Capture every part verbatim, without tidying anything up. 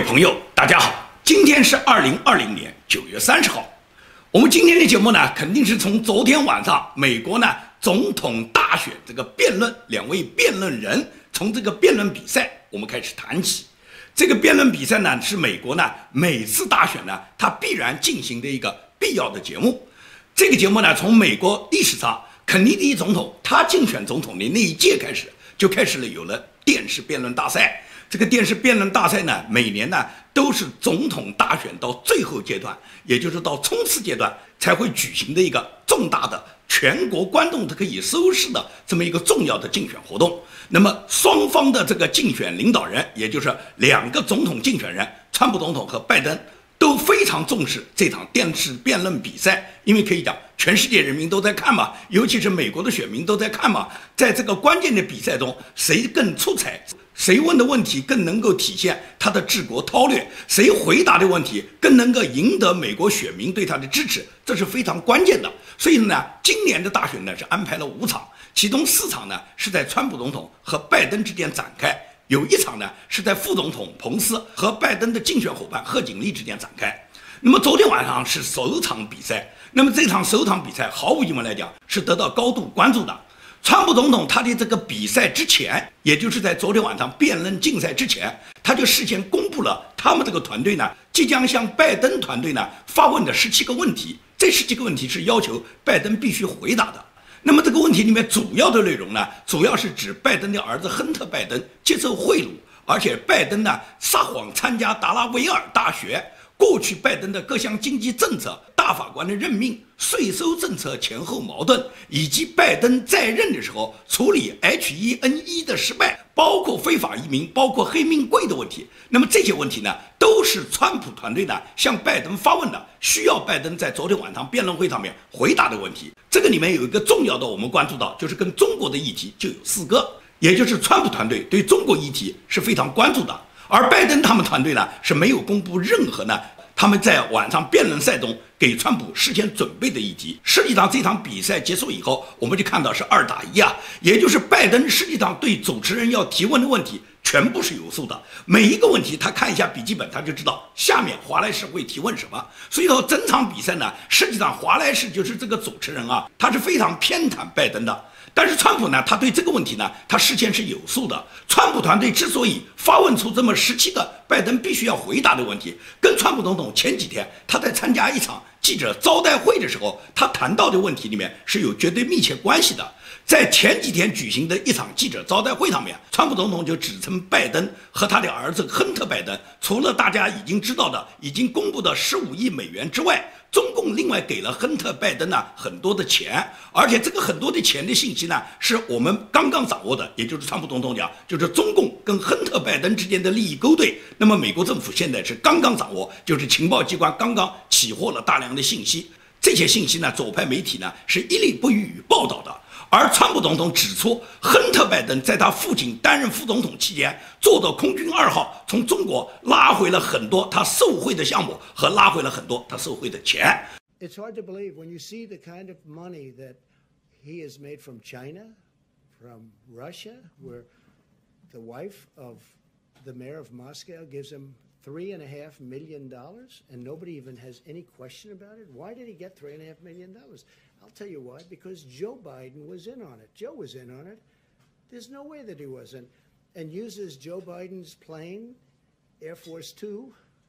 朋友，大家好，今天是二零二零年九月三十号。我们今天的节目呢，肯定是从昨天晚上美国呢总统大选这个辩论，两位辩论人从这个辩论比赛我们开始谈起。这个辩论比赛呢，是美国呢每次大选呢它必然进行的一个必要的节目。这个节目呢，从美国历史上肯尼迪总统他竞选总统的那一届开始，就开始了有了电视辩论大赛。这个电视辩论大赛呢，每年呢都是总统大选到最后阶段，也就是到冲刺阶段才会举行的一个重大的全国观众都可以收视的这么一个重要的竞选活动。那么双方的这个竞选领导人，也就是两个总统竞选人，川普总统和拜登，都非常重视这场电视辩论比赛，因为可以讲全世界人民都在看嘛，尤其是美国的选民都在看嘛。在这个关键的比赛中，谁更出彩，谁问的问题更能够体现他的治国韬略，谁回答的问题更能够赢得美国选民对他的支持，这是非常关键的。所以呢，今年的大选呢是安排了五场，其中四场呢是在川普总统和拜登之间展开，有一场呢是在副总统彭斯和拜登的竞选伙伴贺锦丽之间展开。那么昨天晚上是首场比赛，那么这场首场比赛毫无疑问来讲是得到高度关注的。川普总统他的这个比赛之前，也就是在昨天晚上辩论竞赛之前，他就事先公布了他们这个团队呢即将向拜登团队呢发问的十七个问题，这十七个问题是要求拜登必须回答的。那么这个问题里面主要的内容呢，主要是指拜登的儿子亨特·拜登接受贿赂，而且拜登呢撒谎参加达拉维尔大学，过去拜登的各项经济政策、大法官的任命、税收政策前后矛盾，以及拜登在任的时候处理 H 一 N 一 的失败，包括非法移民，包括黑命贵的问题。那么这些问题呢，都是川普团队呢向拜登发问的，需要拜登在昨天晚上辩论会上面回答的问题。这个里面有一个重要的，我们关注到，就是跟中国的议题就有四个，也就是川普团队对中国议题是非常关注的。而拜登他们团队呢是没有公布任何呢他们在晚上辩论赛中给川普事先准备的议题。实际上这场比赛结束以后，我们就看到是二打一啊，也就是拜登实际上对主持人要提问的问题全部是有数的，每一个问题他看一下笔记本，他就知道下面华莱士会提问什么。所以说整场比赛呢，实际上华莱士就是这个主持人啊，他是非常偏袒拜登的。但是川普呢，他对这个问题呢，他事先是有数的。川普团队之所以发问出这么十七个拜登必须要回答的问题，跟川普总统前几天他在参加一场记者招待会的时候，他谈到的问题里面是有绝对密切关系的。在前几天举行的一场记者招待会上面，川普总统就指称拜登和他的儿子亨特·拜登，除了大家已经知道的、已经公布的十五亿美元之外，中共另外给了亨特·拜登呢很多的钱，而且这个很多的钱的信息呢，是我们刚刚掌握的，也就是川普总统讲，就是中共跟亨特·拜登之间的利益勾兑。那么美国政府现在是刚刚掌握，就是情报机关刚刚起获了大量的信息，这些信息呢，左派媒体呢是一律不予以报道的。而川普总统指出，亨特·拜登在他父亲担任副总统期间，坐到空军二号，从中国拉回了很多他受贿的项目，和拉回了很多他受贿的钱。 It's hard to believe when you see the kind of money that he has made from China, from Russia, where the wife of the mayor of Moscow gives him three and a half million dollars, and nobody even has any question about it. Why did he get three and a half million dollars? I'll tell you why. Because Joe Biden was in on it. Joe was in on it. There's no way that he wasn't. And uses Joe Biden's plane, Air Force Two,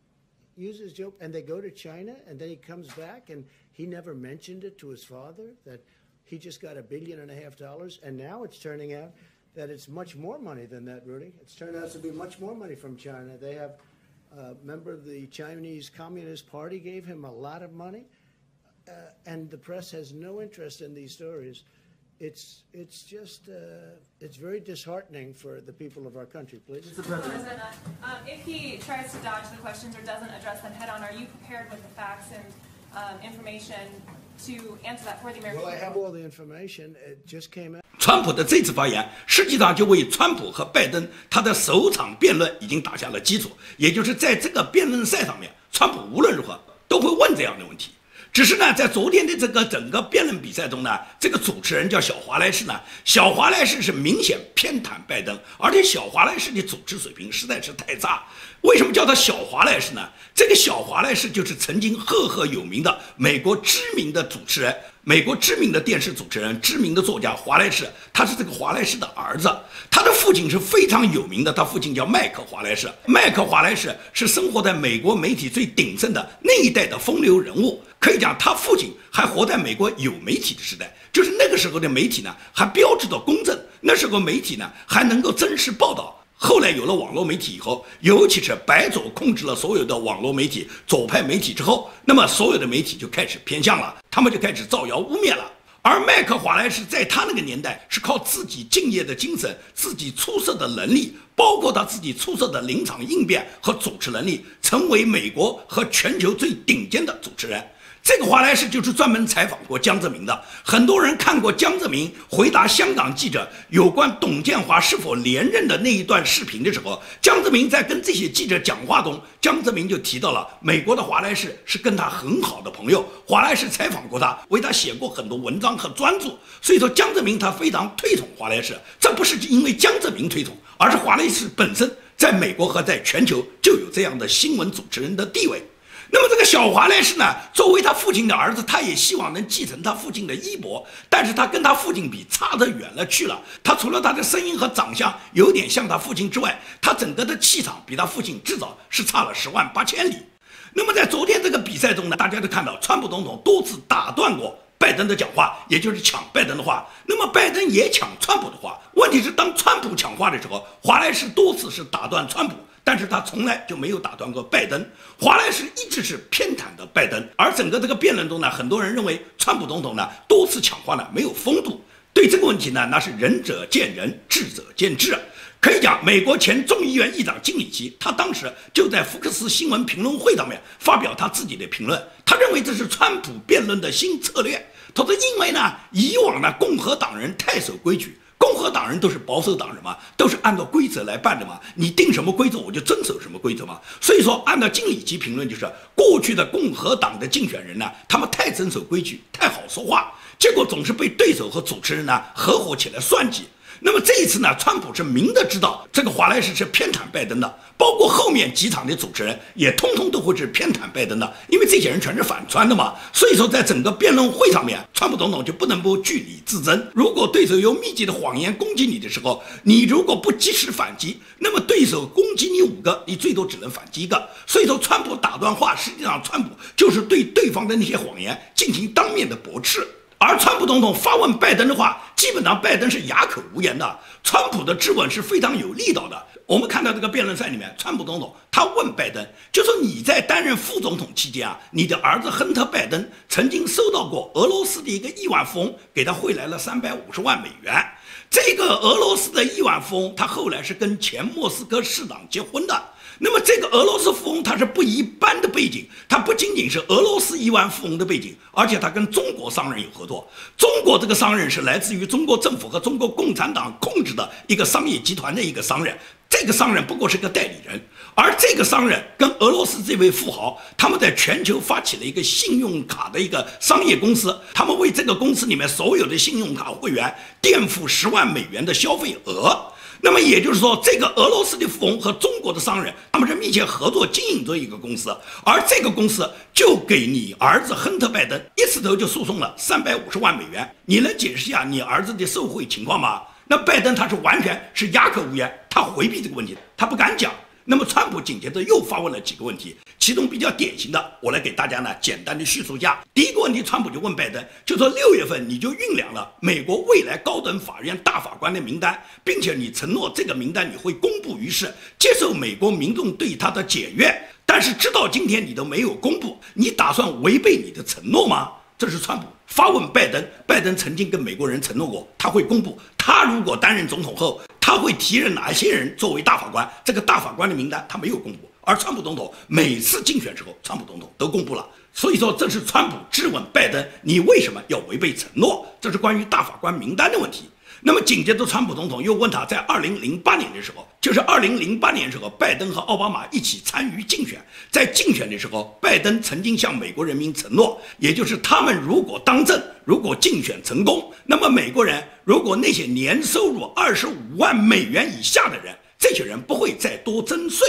uses Joe, and they go to China, and then he comes back, and he never mentioned it to his father that he just got a billion and a half dollars, and now it's turning out that it's much more money than that, Rudy. It's turned out to be much more money from China. They have a member of the Chinese Communist Party gave him a lot of money, uh, and the press has no interest in these stories. It's it's just uh, it's very disheartening for the people of our country. Please, Mister President, um, if he tries to dodge the questions or doesn't address them head on, are you prepared with the facts and um, information to answer that for the American people? Well, I have all the information. It just came out. 川普的这次发言，实际上就为川普和拜登他的首场辩论已经打下了基础。也就是在这个辩论赛上面，川普无论如何都会问这样的问题。只是呢，在昨天的这个整个辩论比赛中呢，这个主持人叫小华莱士呢，小华莱士是明显偏袒拜登，而且小华莱士的主持水平实在是太差。 为什么叫他小华莱士呢？这个小华莱士就是曾经赫赫有名的美国知名的主持人，美国知名的电视主持人，知名的作家华莱士，他是这个华莱士的儿子。他的父亲是非常有名的，他父亲叫麦克华莱士。麦克华莱士是生活在美国媒体最鼎盛的那一代的风流人物，可以讲他父亲还活在美国有媒体的时代，就是那个时候的媒体呢还标志着公正，那时候媒体呢还能够真实报道。后来有了网络媒体以后，尤其是白左控制了所有的网络媒体、左派媒体之后，那么所有的媒体就开始偏向了，他们就开始造谣污蔑了。而麦克华莱士在他那个年代是靠自己敬业的精神、自己出色的能力，包括他自己出色的临场应变和主持能力，成为美国和全球最顶尖的主持人。这个华莱士就是专门采访过江泽民的，很多人看过江泽民回答香港记者有关董建华是否连任的那一段视频的时候，江泽民在跟这些记者讲话中，江泽民就提到了美国的华莱士是跟他很好的朋友，华莱士采访过他，为他写过很多文章和专著，所以说江泽民他非常推崇华莱士，这不是因为江泽民推崇，而是华莱士本身在美国和在全球就有这样的新闻主持人的地位。那么这个小华莱士呢，作为他父亲的儿子，他也希望能继承他父亲的衣钵，但是他跟他父亲比差得远了去了。他除了他的声音和长相有点像他父亲之外，他整个的气场比他父亲至少是差了十万八千里。那么在昨天这个比赛中呢，大家都看到川普总统多次打断过拜登的讲话，也就是抢拜登的话，那么拜登也抢川普的话。问题是当川普抢话的时候，华莱士多次是打断川普，但是他从来就没有打断过拜登。华莱士一直是偏袒的拜登，而整个这个辩论中呢，很多人认为川普总统呢多次抢话呢没有风度。对这个问题呢，那是仁者见仁，智者见智。可以讲，美国前众议院议长金里奇，他当时就在福克斯新闻评论会上面发表他自己的评论，他认为这是川普辩论的新策略。他说，因为呢，以往呢，共和党人太守规矩。共和党人都是保守党人嘛，都是按照规则来办的嘛，你定什么规则我就遵守什么规则嘛。所以说，按照金里奇评论，就是过去的共和党的竞选人呢，他们太遵守规矩，太好说话，结果总是被对手和主持人呢合伙起来算计。那么这一次呢，川普是明的知道这个华莱士是偏袒拜登的，包括后面几场的主持人也通通都会是偏袒拜登的，因为这些人全是反川的嘛。所以说，在整个辩论会上面，川普总统就不能不据理自争。如果对手用密集的谎言攻击你的时候，你如果不及时反击，那么对手攻击你五个，你最多只能反击一个。所以说，川普打断话，实际上川普就是对对方的那些谎言进行当面的驳斥。而川普总统发问拜登的话，基本上拜登是哑口无言的。川普的质问是非常有力道的。我们看到这个辩论赛里面，川普总统他问拜登，就说你在担任副总统期间啊，你的儿子亨特·拜登曾经收到过俄罗斯的一个亿万富翁给他汇来了三百五十万美元。这个俄罗斯的亿万富翁，他后来是跟前莫斯科市长结婚的。那么这个俄罗斯富翁他是不一般的背景，他不仅仅是俄罗斯亿万富翁的背景，而且他跟中国商人有合作。中国这个商人是来自于中国政府和中国共产党控制的一个商业集团的一个商人，这个商人不过是个代理人，而这个商人跟俄罗斯这位富豪，他们在全球发起了一个信用卡的一个商业公司，他们为这个公司里面所有的信用卡会员垫付十万美元的消费额。那么也就是说，这个俄罗斯的富翁和中国的商人，他们是密切合作经营着一个公司，而这个公司就给你儿子亨特·拜登一次头就诉讼了三百五十万美元。你能解释一下你儿子的受贿情况吗？那拜登他是完全是哑口无言，他回避这个问题，他不敢讲。那么川普紧接着又发问了几个问题，其中比较典型的，我来给大家呢简单的叙述一下。第一个问题，川普就问拜登，就说六月份你就酝酿了美国未来高等法院大法官的名单，并且你承诺这个名单你会公布于世，接受美国民众对他的检阅，但是直到今天你都没有公布，你打算违背你的承诺吗？这是川普发问拜登。拜登曾经跟美国人承诺过，他会公布，他如果担任总统后，他会提任哪些人作为大法官，这个大法官的名单他没有公布。而川普总统每次竞选时候，川普总统都公布了。所以说，这是川普质问拜登，你为什么要违背承诺？这是关于大法官名单的问题。那么紧接着，川普总统又问他，在二零零八年的时候，就是二零零八年的时候，拜登和奥巴马一起参与竞选，在竞选的时候，拜登曾经向美国人民承诺，也就是他们如果当政，如果竞选成功，那么美国人如果那些年收入二十五万美元以下的人，这些人不会再多征税。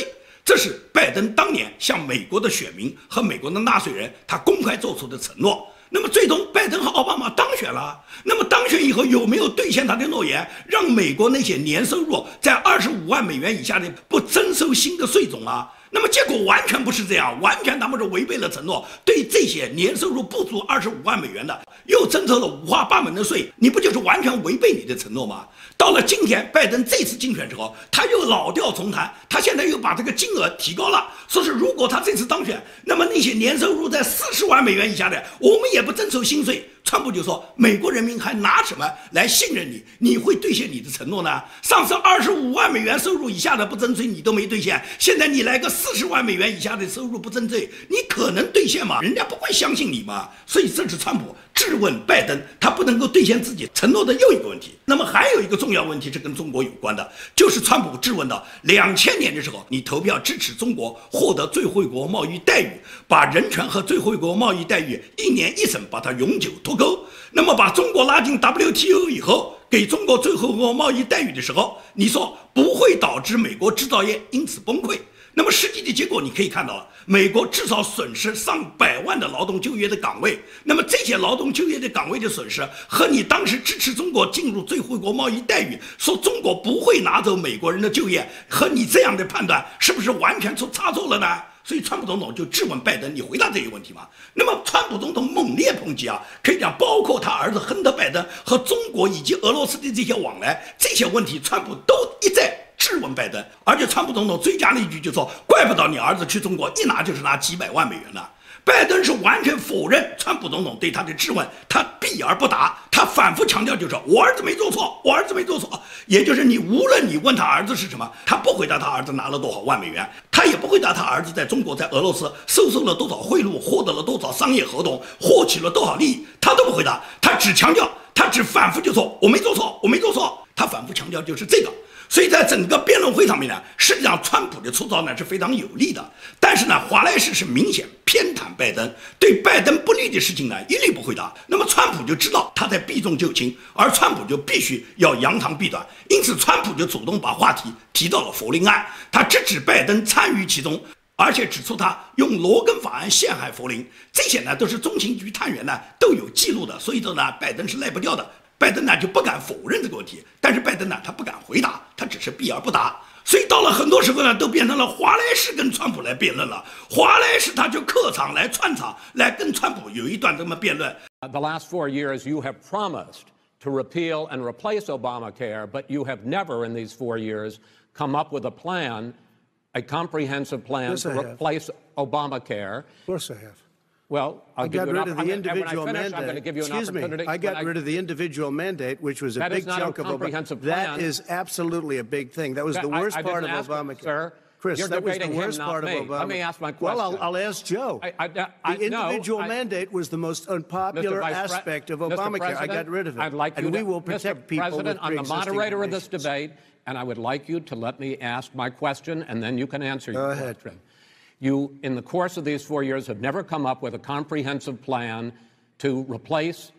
这是拜登当年向美国的选民和美国的纳税人他公开做出的承诺。那么最终拜登和奥巴马当选了，那么当选以后有没有兑现他的诺言，让美国那些年收入在二十五万美元以下的不征收新的税种啊？那么结果完全不是这样，完全他们是违背了承诺，对这些年收入不足二十五万美元的又征收了五花八门的税，你不就是完全违背你的承诺吗？到了今天拜登这次竞选之后，他又老调重弹，他现在又把这个金额提高了，说是如果他这次当选，那么那些年收入在四十万美元以下的我们也不征收新税。川普就说美国人民还拿什么来信任你，你会兑现你的承诺呢？上次二十五万美元收入以下的不征税你都没兑现，现在你来个四十万美元以下的收入不征税，你可能兑现吗？人家不会相信你嘛。所以这是川普质问拜登他不能够兑现自己承诺的又一个问题。那么还有一个重要问题是跟中国有关的，就是川普质问到两千年的时候你投票支持中国获得最惠国贸易待遇，把人权和最惠国贸易待遇一年一审把它永久脱钩，那么把中国拉进 W T O 以后给中国最惠国贸易待遇的时候，你说不会导致美国制造业因此崩溃，那么实际的结果你可以看到了，美国至少损失上百万的劳动就业的岗位，那么这些劳动就业的岗位的损失和你当时支持中国进入最惠国贸易待遇，说中国不会拿走美国人的就业，和你这样的判断是不是完全出差错了呢？所以川普总统就质问拜登，你回答这个问题吗？那么川普总统猛烈抨击啊，可以讲包括他儿子亨特拜登和中国以及俄罗斯的这些往来，这些问题川普都一再质问拜登，而且川普总统追加了一句，就说怪不得你儿子去中国一拿就是拿几百万美元呢。拜登是完全否认川普总统对他的质问，他避而不答，他反复强调就是我儿子没做错，我儿子没做错，也就是你无论你问他儿子是什么，他不回答他儿子拿了多少万美元，他也不回答他儿子在中国在俄罗斯收受了多少贿赂，获得了多少商业合同，获取了多少利益，他都不回答，他只强调，他只反复就说我没做错，我没做错，他反复强调就是这个。所以在整个辩论会上面呢，实际上川普的出招呢是非常有利的，但是呢，华莱士是明显偏袒拜登，对拜登不利的事情呢一律不回答。那么川普就知道他在避重就轻，而川普就必须要扬长避短，因此川普就主动把话题提到了弗林案，他直指拜登参与其中，而且指出他用罗根法案陷害弗林，这些呢都是中情局探员呢都有记录的，所以说呢，拜登是赖不掉的。拜登呢就不敢否认这个问题，但是拜登呢他不敢回答，他只是避而不答，所以到了很多时候呢都变成了华莱士跟川普来辩论了，华莱士他就客场来串场来跟川普有一段这么辩论。 The last four years you have promised to repeal and replace Obamacare, but you have never in these four years come up with a plan, a comprehensive plan yes, to replace Obamacare. Of course I have. Well, I'll I give got you rid an, of the I'm individual gonna, mandate. I'm going to give you an Excuse opportunity. me. I got I, rid of the individual mandate, which was a that big is not chunk a of comprehensive Obamacare. That plan. is absolutely a big thing. That was That, the worst I, I part of ask Obamacare. It, sir. Chris, You're that was the debating worst him, part not of me. Obamacare. Let me ask my question. Well, I'll, I'll ask Joe. I, I, I, the individual no, I, mandate was the most unpopular aspect of Obamacare. I got rid of it. I'd like and you we to, will protect Mister people President, with I'm the moderator of this conditions. debate, and I would like you to let me ask my question, and then you can answer Go your ahead. question. You, in the course of these four years, have never come up with a comprehensive plan to replace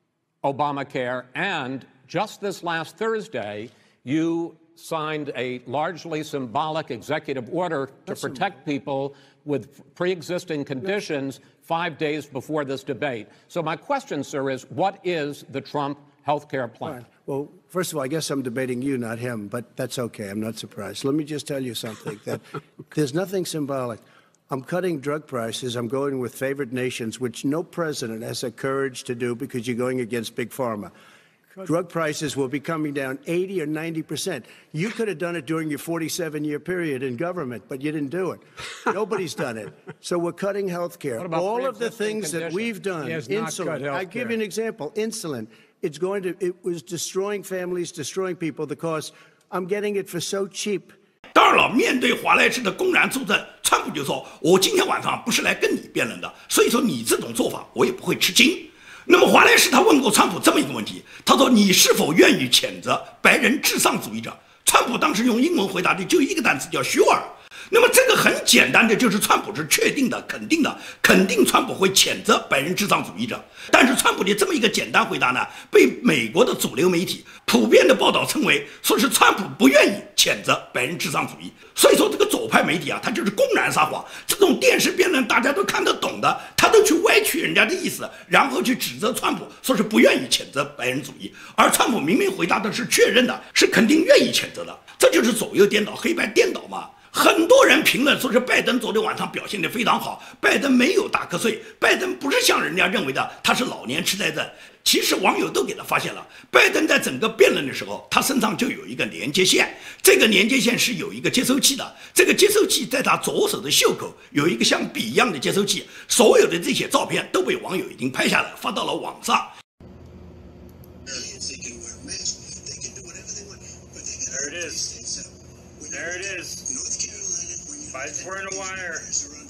Obamacare, and just this last Thursday, you signed a largely symbolic executive order to That's protect people with pre-existing conditions five days before this debate. So my question, sir, is what is the Trump health care plan? Fine. Well, first of all, I guess I'm debating you, not him, but that's okay. I'm not surprised. Let me just tell you something, that there's nothing symbolic. I'm cutting drug prices. I'm going with favored nations, which no president has the courage to do because you're going against Big Pharma. Drug prices will be coming down eighty or ninety percent. You could have done it during your forty-seven year period in government, but you didn't do it. Nobody's done it. So we're cutting health care. All of the things that we've done, insulin, I give you an example, insulin, it's going to, it was destroying families, destroying people, because I'm getting it for so cheap. 当然了，面对华莱士的公然作证，川普就说：“我今天晚上不是来跟你辩论的，所以说你这种做法我也不会吃惊。”那么华莱士他问过川普这么一个问题，他说：“你是否愿意谴责白人至上主义者？”川普当时用英文回答的就一个单词叫 sure。 那么这个很简单的，就是川普是确定的、肯定的，肯定川普会谴责白人至上主义者。但是川普的这么一个简单回答呢，被美国的主流媒体普遍的报道称为说是川普不愿意谴责白人至上主义。所以说这个左派媒体啊，他就是公然撒谎。这种电视辩论大家都看得懂的，他都去歪曲人家的意思，然后去指责川普，说是不愿意谴责白人主义。而川普明明回答的是确认的，是肯定愿意谴责的。这就是左右颠倒、黑白颠倒嘛。很多人评论说是拜登昨天晚上表现得非常好，拜登没有打瞌睡，拜登不是像人家认为的他是老年痴呆症。其实网友都给他发现了，拜登在整个辩论的时候，他身上就有一个连接线，这个连接线是有一个接收器的，这个接收器在他左手的袖口有一个像笔一样的接收器，所有的这些照片都被网友已经拍下来发到了网上。 There it is. There it is. Biden's wearing a wire.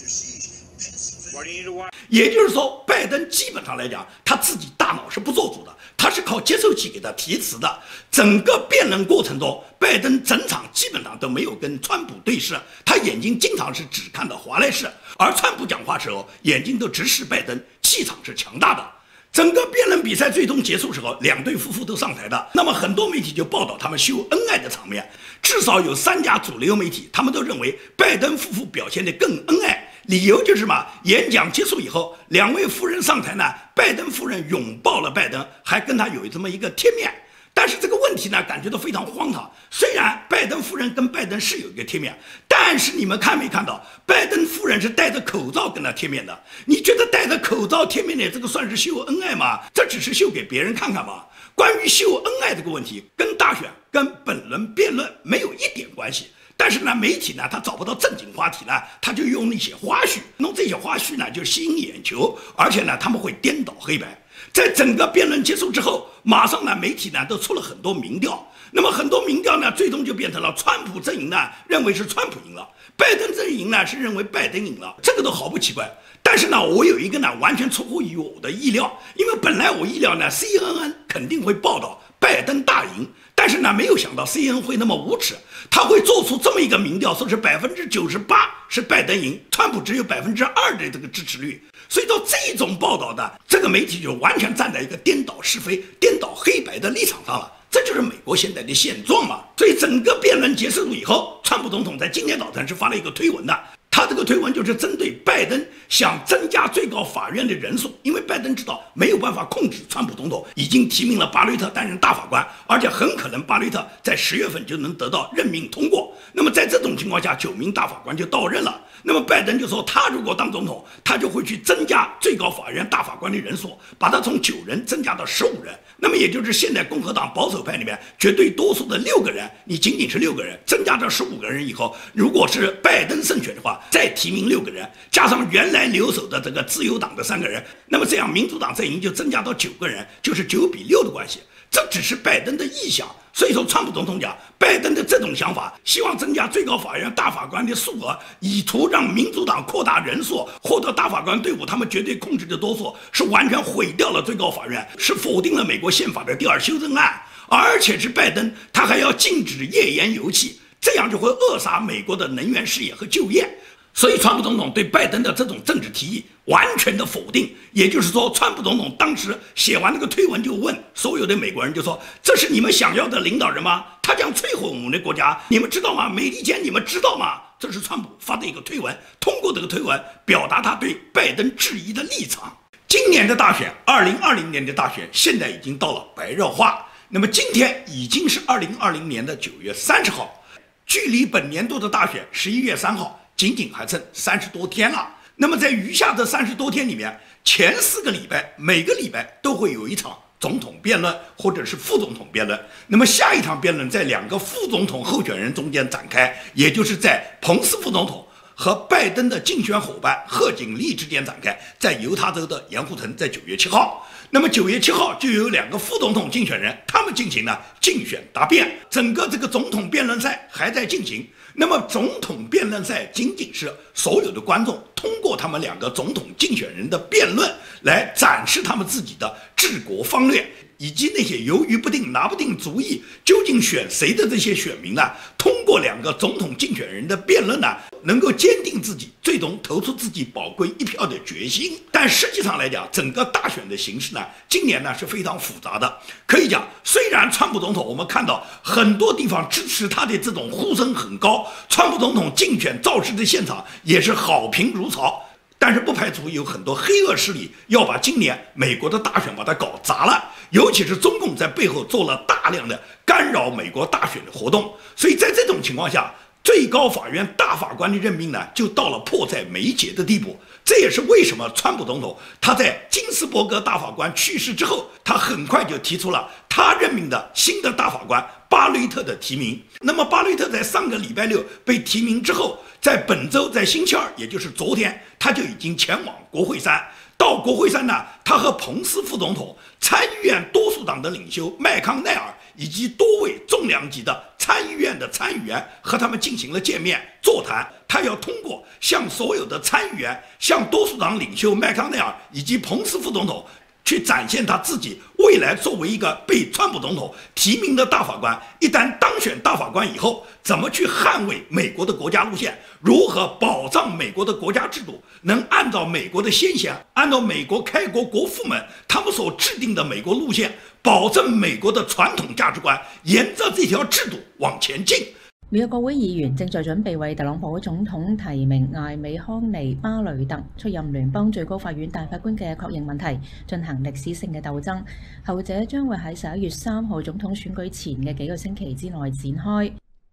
Why do you need a wire? 也就是说，拜登基本上来讲，他自己大脑是不做主的，他是靠接收器给他提词的。整个辩论过程中，拜登整场基本上都没有跟川普对视，他眼睛经常是只看到华莱士，而川普讲话时候眼睛都直视拜登，气场是强大的。整个辩论比赛最终结束时候，两对夫妇都上台的。那么很多媒体就报道他们秀恩爱的场面，至少有三家主流媒体，他们都认为拜登夫妇表现得更恩爱。理由就是嘛，演讲结束以后，两位夫人上台呢，拜登夫人拥抱了拜登，还跟他有这么一个贴面。但是这个问题呢，感觉到非常荒唐。虽然拜登夫人跟拜登是有一个贴面，但是你们看没看到，拜登夫人是戴着口罩跟他贴面的？你觉得戴着口罩贴面的这个算是秀恩爱吗？这只是秀给别人看看吗？关于秀恩爱这个问题，跟大选、跟本轮辩论没有一点关系。但是呢，媒体呢，他找不到正经话题呢，他就用那些花絮，弄这些花絮呢，就吸引眼球，而且呢，他们会颠倒黑白。在整个辩论结束之后，马上呢，媒体呢都出了很多民调，那么很多民调呢，最终就变成了川普阵营呢认为是川普赢了，拜登阵营呢是认为拜登赢了，这个都毫不奇怪。但是呢，我有一个呢完全出乎于我的意料，因为本来我意料呢 C N N 肯定会报道拜登大赢，但是呢，没有想到 C N N 会那么无耻，他会做出这么一个民调，说是百分之九十八是拜登赢，川普只有百分之二的这个支持率。所以说这种报道的这个媒体就完全站在一个颠倒是非、颠倒黑白的立场上了，这就是美国现在的现状嘛。所以整个辩论结束以后，川普总统在今天早晨是发了一个推文的。他这个推文就是针对拜登想增加最高法院的人数，因为拜登知道没有办法控制川普总统，已经提名了巴雷特担任大法官，而且很可能巴雷特在十月份就能得到任命通过。那么在这种情况下，九名大法官就到任了。那么拜登就说，他如果当总统，他就会去增加最高法院大法官的人数，把它从九人增加到十五人。那么也就是现在共和党保守派里面绝对多数的六个人，你仅仅是六个人，增加到十五个人以后，如果是拜登胜选的话，再提名六个人，加上原来留守的这个自由党的三个人，那么这样民主党阵营就增加到九个人，就是九比六的关系。这只是拜登的意向，所以说川普总统讲，拜登的这种想法，希望增加最高法院大法官的数额，以图让民主党扩大人数，获得大法官队伍他们绝对控制的多数，是完全毁掉了最高法院，是否定了美国宪法的第二修正案，而且是拜登他还要禁止页岩油气，这样就会扼杀美国的能源事业和就业。所以川普总统对拜登的这种政治提议完全的否定，也就是说，川普总统当时写完那个推文就问所有的美国人，就说这是你们想要的领导人吗？他将摧毁我们的国家，你们知道吗？美利坚你们知道吗？这是川普发的一个推文，通过这个推文表达他对拜登质疑的立场。今年的大选，二零二零年的大选现在已经到了白热化，那么今天已经是二零二零年的九月三十号，距离本年度的大选十一月三号仅仅还剩三十多天了。那么在余下的三十多天里面，前四个礼拜每个礼拜都会有一场总统辩论或者是副总统辩论。那么下一场辩论在两个副总统候选人中间展开，也就是在彭斯副总统和拜登的竞选伙伴贺锦丽之间展开，在犹他州的盐湖城，在九月七号。那么九月七号就有两个副总统竞选人，他们进行了竞选答辩，整个这个总统辩论赛还在进行。那么总统辩论赛仅仅是所有的观众通过他们两个总统竞选人的辩论来展示他们自己的治国方略，以及那些犹豫不定、拿不定主意究竟选谁的这些选民呢，通过两个总统竞选人的辩论呢，能够坚定自己最终投出自己宝贵一票的决心。但实际上来讲，整个大选的形势呢，今年呢是非常复杂的。可以讲，虽然川普总统我们看到很多地方支持他的这种呼声很高，川普总统竞选造势的现场也是好评如潮，但是不排除有很多黑恶势力要把今年美国的大选把它搞砸了，尤其是中共在背后做了大量的干扰美国大选的活动。所以在这种情况下，最高法院大法官的任命呢，就到了迫在眉睫的地步。这也是为什么川普总统他在金斯伯格大法官去世之后，他很快就提出了他任命的新的大法官巴雷特的提名。那么巴雷特在上个礼拜六被提名之后，在本周在星期二，也就是昨天，他就已经前往国会山。到国会山呢，他和彭斯副总统、参议院多数党的领袖麦康奈尔以及多位重量级的参议院的参议员和他们进行了见面座谈。他要通过向所有的参议员、向多数党领袖麦康奈尔以及彭斯副总统去展现他自己未来作为一个被川普总统提名的大法官，一旦当选大法官以后，怎么去捍卫美国的国家路线，如何保障美国的国家制度能按照美国的先贤，按照美国开国国父们他们所制定的美国路线，保证美国的传统价值观沿着这条制度往前进。 美國國會議員正在準備為特朗普總統提名艾美康尼巴雷特出任聯邦最高法院大法官嘅確認問題進行歷史性嘅鬥爭，後者將會喺十一月三號總統選舉前嘅幾個星期之內展開。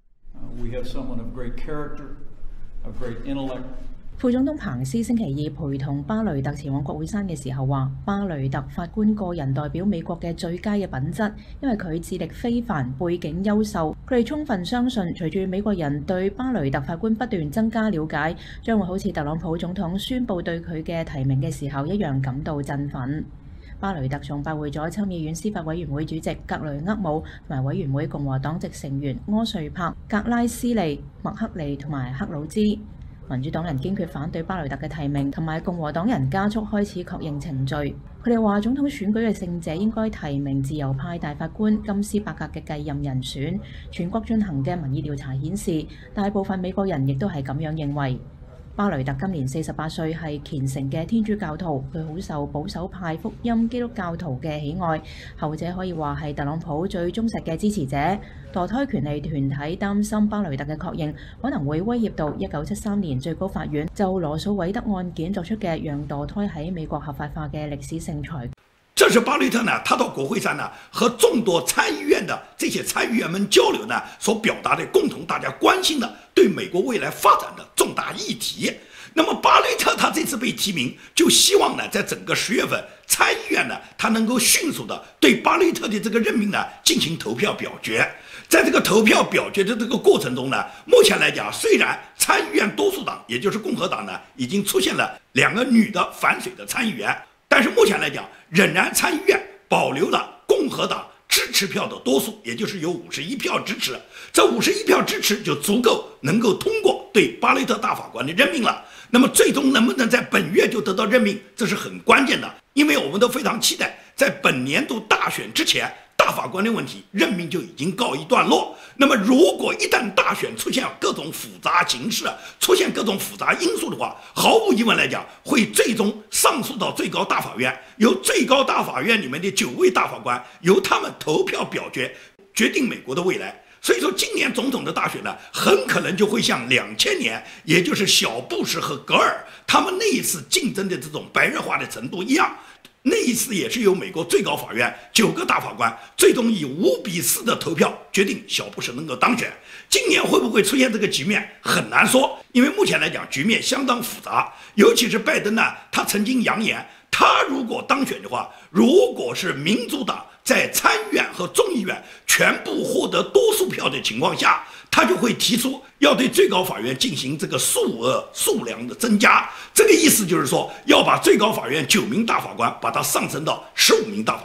We have someone of great character, of great intellect. 副總統彭斯星期二陪同巴雷特前往國會山嘅時候話，巴雷特法官個人代表美國嘅最佳嘅品質，因為佢智力非凡，背景優秀。佢哋充分相信，隨住美國人對巴雷特法官不斷增加了解，將會好似特朗普總統宣布對佢嘅提名嘅時候一樣感到振奮。巴雷特仲拜會咗參議院司法委員會主席格雷厄姆同埋委員會共和黨籍成員柯瑞柏、格拉斯利、麥克利同埋克魯茲。民主黨人堅決反對巴雷特嘅提名，同埋共和黨人加速開始確認程序。佢哋話總統選舉嘅勝者應該提名自由派大法官金斯伯格嘅繼任人選。全國進行嘅民意調查顯示，大部分美國人亦都係咁樣認為。巴雷特今年四十八歲，係虔誠嘅天主教徒，佢好受保守派福音基督教徒嘅喜愛，後者可以話係特朗普最忠實嘅支持者。墮胎權利團體擔心巴雷特嘅確認可能會威脅到一九七三年最高法院就羅素韋德案件作出嘅讓墮胎喺美國合法化嘅歷史性裁決。 这是巴雷特呢，他到国会山呢，和众多参议院的这些参议员们交流呢，所表达的共同大家关心的对美国未来发展的重大议题。那么巴雷特他这次被提名，就希望呢，在整个十月份，参议院呢，他能够迅速的对巴雷特的这个任命呢进行投票表决。在这个投票表决的这个过程中呢，目前来讲，虽然参议院多数党，也就是共和党呢，已经出现了两个女的反水的参议员，但是目前来讲，仍然参议院保留了共和党支持票的多数，也就是有五十一票支持。这五十一票支持就足够能够通过对巴雷特大法官的任命了。那么最终能不能在本月就得到任命，这是很关键的，因为我们都非常期待在本年度大选之前，大法官的问题任命就已经告一段落。那么如果一旦大选出现各种复杂形势，出现各种复杂因素的话，毫无疑问来讲，会最终上诉到最高大法院，由最高大法院里面的九位大法官由他们投票表决，决定美国的未来。所以说今年总统的大选呢，很可能就会像两千年，也就是小布什和格尔他们那一次竞争的这种白热化的程度一样。那一次也是由美国最高法院九个大法官最终以五比四的投票决定小布什能够当选。今年会不会出现这个局面很难说，因为目前来讲局面相当复杂，尤其是拜登呢，他曾经扬言，他如果当选的话，如果是民主党在参议院和众议院全部获得多数票的情况下，他就会提出要对最高法院进行这个数额数量的增加。这个意思就是说，要把最高法院九名大法官把它上升到十五名大法官，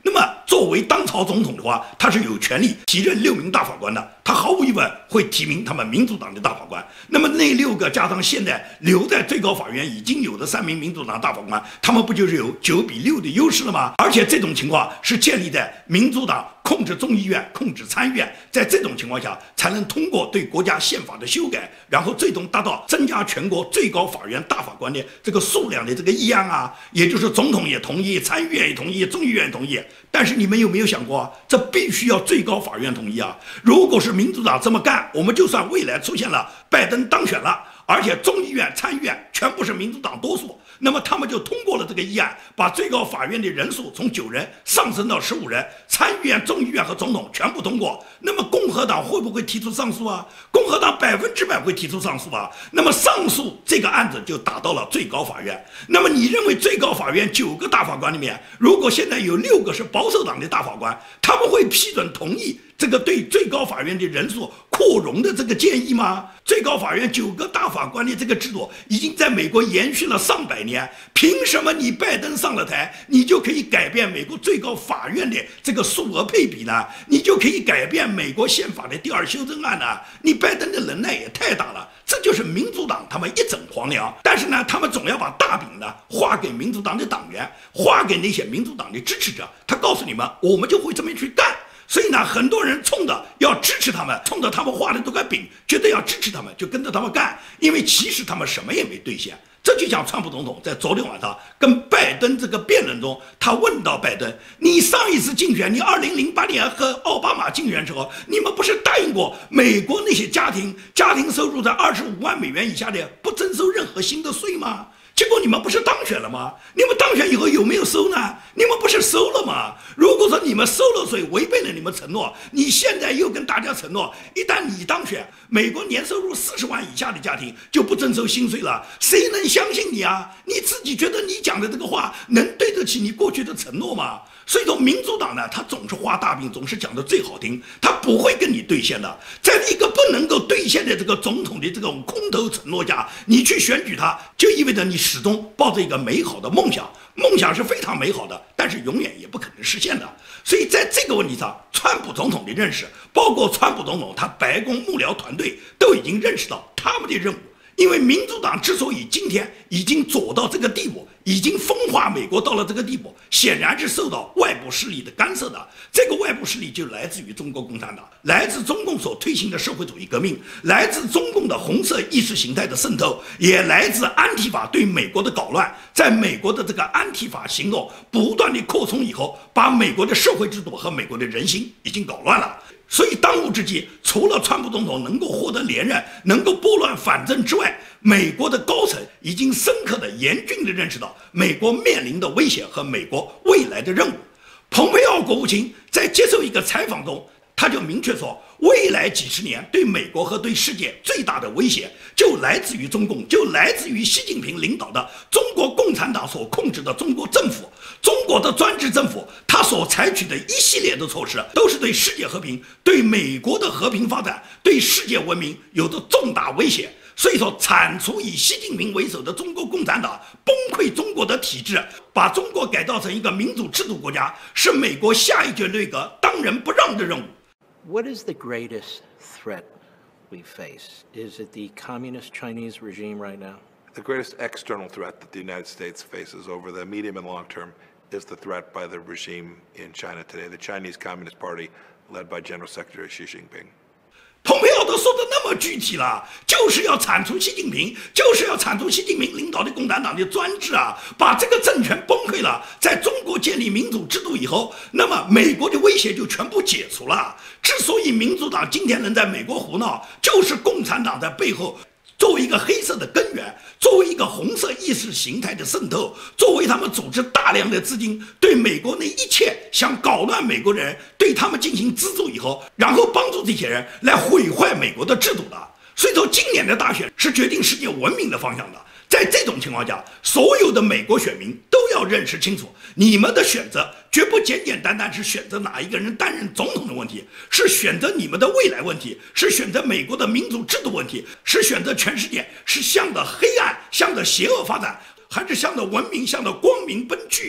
那么作为当朝总统的话，他是有权利提任六名大法官的，他毫无疑问会提名他们民主党的大法官。那么那六个加上现在留在最高法院已经有的三名民主党大法官，他们不就是有九比六的优势了吗？而且这种情况是建立在民主党控制众议院、控制参议院，在这种情况下才能通过对国家宪法的修改，然后最终达到增加全国最高法院大法官的这个数量的这个议案啊，也就是总统也同意，参议院也同意，众议院也同意。但是你们有没有想过，这必须要最高法院同意啊？如果是民主党这么干，我们就算未来出现了拜登当选了，而且众议院、参议院全部是民主党多数，那么他们就通过了这个议案，把最高法院的人数从九人上升到十五人，参议院、众议院和总统全部通过。那么共和党会不会提出上诉啊？共和党百分之百会提出上诉啊。那么上诉这个案子就打到了最高法院。那么你认为最高法院九个大法官里面，如果现在有六个是保守党的大法官，他们会批准同意这个对最高法院的人数扩容的这个建议吗？最高法院九个大法官的这个制度已经在美国延续了上百年，凭什么你拜登上了台，你就可以改变美国最高法院的这个数额配比呢？你就可以改变美国宪法的第二修正案呢？你拜登的能耐也太大了，这就是民主党他们一整黄粱。但是呢，他们总要把大饼呢划给民主党的党员，划给那些民主党的支持者，他告诉你们，我们就会这么去干。所以呢，很多人冲着要支持他们，冲着他们画的这块饼，觉得要支持他们，就跟着他们干。因为其实他们什么也没兑现。这就像川普总统在昨天晚上跟拜登这个辩论中，他问到拜登：“你上一次竞选，你二零零八年和奥巴马竞选时候，你们不是答应过美国那些家庭家庭收入在二十五万美元以下的不征收任何新的税吗？”结果你们不是当选了吗？你们当选以后有没有收呢？你们不是收了吗？如果说你们收了税，违背了你们承诺，你现在又跟大家承诺，一旦你当选，美国年收入四十万以下的家庭就不征收新税了，谁能相信你啊？你自己觉得你讲的这个话能对得起你过去的承诺吗？所以说，民主党呢，他总是画大饼，总是讲的最好听，他不会跟你兑现的。在一个不能够兑现的这个总统的这种空头承诺下，你去选举他，就意味着你始终抱着一个美好的梦想，梦想是非常美好的，但是永远也不可能实现的。所以在这个问题上，川普总统的认识，包括川普总统他白宫幕僚团队都已经认识到他们的任务。因为民主党之所以今天已经走到这个地步，已经分化美国到了这个地步，显然是受到外部势力的干涉的。这个外部势力就来自于中国共产党，来自中共所推行的社会主义革命，来自中共的红色意识形态的渗透，也来自安提法对美国的搞乱。在美国的这个安提法行动不断的扩充以后，把美国的社会制度和美国的人心已经搞乱了。所以当务之急，除了川普总统能够获得连任，能够拨乱反正之外，美国的高层已经深刻的、严峻的认识到美国面临的威胁和美国未来的任务。蓬佩奥国务卿在接受一个采访中，他就明确说，未来几十年对美国和对世界最大的威胁就来自于中共，就来自于习近平领导的中国共产党所控制的中国政府。中国的专制政府，他所采取的一系列的措施，都是对世界和平、对美国的和平发展、对世界文明有着重大威胁。所以说，铲除以习近平为首的中国共产党，崩溃中国的体制，把中国改造成一个民主制度国家，是美国下一届内阁当仁不让的任务。 What is the greatest threat we face? Is it the communist Chinese regime right now? The greatest external threat that the United States faces over the medium and long term is the threat by the regime in China today, the Chinese Communist Party, led by General Secretary Xi Jinping. 蓬佩奥都说的那么具体了，就是要铲除习近平，就是要铲除习近平领导的共产党的专制啊，把这个政权崩溃了。在中国建立民主制度以后，那么美国的威胁就全部解除了。之所以民主党今天能在美国胡闹，就是共产党在背后作为一个黑色的根源，作为一个红色意识形态的渗透，作为他们组织大量的资金，对美国那一切想搞乱美国的人，对他们进行资助以后，然后帮助这些人来毁坏美国的制度的。所以说，今年的大选是决定世界文明的方向的。在这种情况下，所有的美国选民都要认识清楚，你们的选择绝不简简单单是选择哪一个人担任总统的问题，是选择你们的未来问题，是选择美国的民主制度问题，是选择全世界是向着黑暗、向着邪恶发展，还是向着文明、向着光明奔去。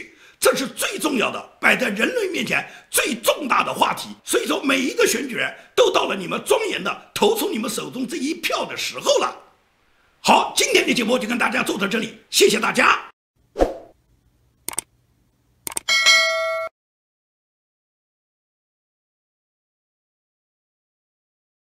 这是最重要的，摆在人类面前最重大的话题。所以说，每一个选举人都到了你们庄严的投出你们手中这一票的时候了。好，今天的节目就跟大家做到这里，谢谢大家。